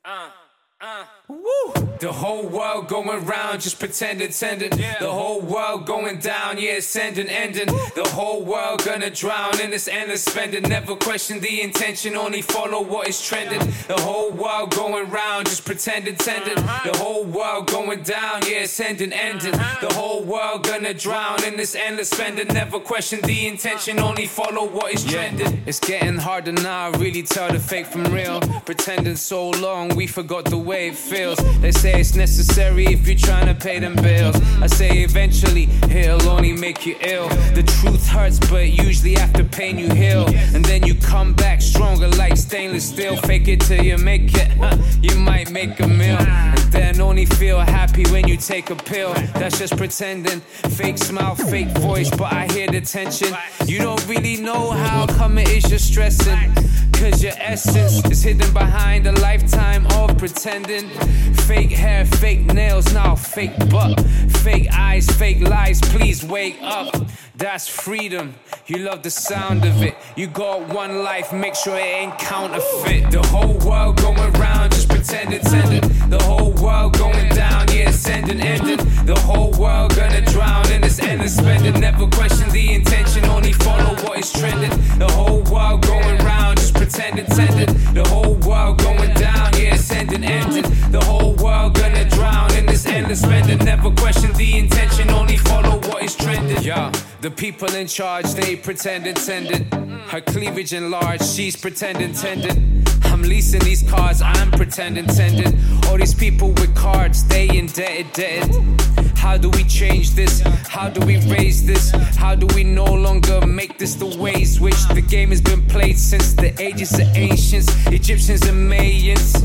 The whole world going round, just pretend it's ending. The whole world going down, yeah, it's ending. The whole world gonna drown in this endless spending. Never question the intention, only follow what is trending. The whole world going round, just pretend it's ending. The whole world going down, yeah, it's ending. The whole world gonna drown in this endless spending. Never question the intention, only follow what is trending. It's getting harder now, really tell the fake from real. Pretending so long, we forgot the way it feels. They say it's necessary if you're trying to pay them bills. I say eventually it'll only make you ill. The truth hurts, but usually after pain you heal. And then you come back stronger like stainless steel. Fake it till you make it, you might make a meal. And then only feel happy when you take a pill. That's just pretending. Fake smile, fake voice, but I hear the tension. You don't really know how come it is you're stressing. Cause your essence is hidden behind a lifetime of pretending. Fake hair, fake nails, now fake butt. Fake eyes, fake lies, please wake up. That's freedom, you love the sound of it. You got one life, make sure it ain't counterfeit. The whole world going round, just pretend it's ending. The whole world going down, yeah, it's ending. The whole world gonna drown in this endless spending. Never question the intention, only follow what is trending. The whole world going round, just pretend it's ending. The whole world going down, yeah, it's ending. The whole world gonna drown in this endless spending. Never question the intention, only follow what is trending. Yeah, the people in charge, they pretend it's ending. Her cleavage enlarged, she's pretending tending. I'm leasing these cars, I'm pretending tending. All these people with cards, they indebted. How do we change this? How do we raise this? How do we no longer make this the ways which the game has been played since the ages of ancients, Egyptians and Mayans?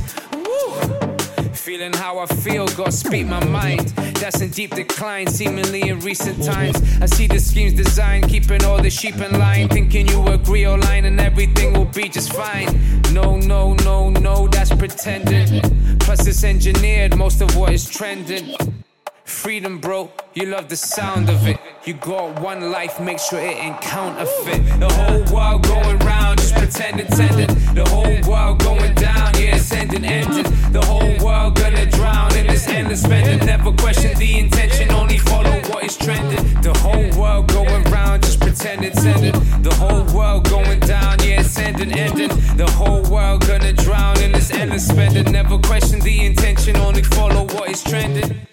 Feeling how I feel, gotta speak my mind. That's in deep decline, seemingly in recent times. I see the schemes designed, keeping all the sheep in line. Thinking you agree or line and everything will be just fine. No, that's pretending. Plus it's engineered, most of what is trending. Freedom, bro, you love the sound of it. You got one life, make sure it ain't counterfeit. The whole world going round, just pretend it's ending. The whole world going down, yeah, it's ending. The whole world gonna drown in this endless spending. Never question the intention, only follow what is trending. The whole world going round, just pretend it's ending. The whole world going down, yeah, it's ending. The whole world gonna drown in this endless spending. Never question the intention, only follow what is trending.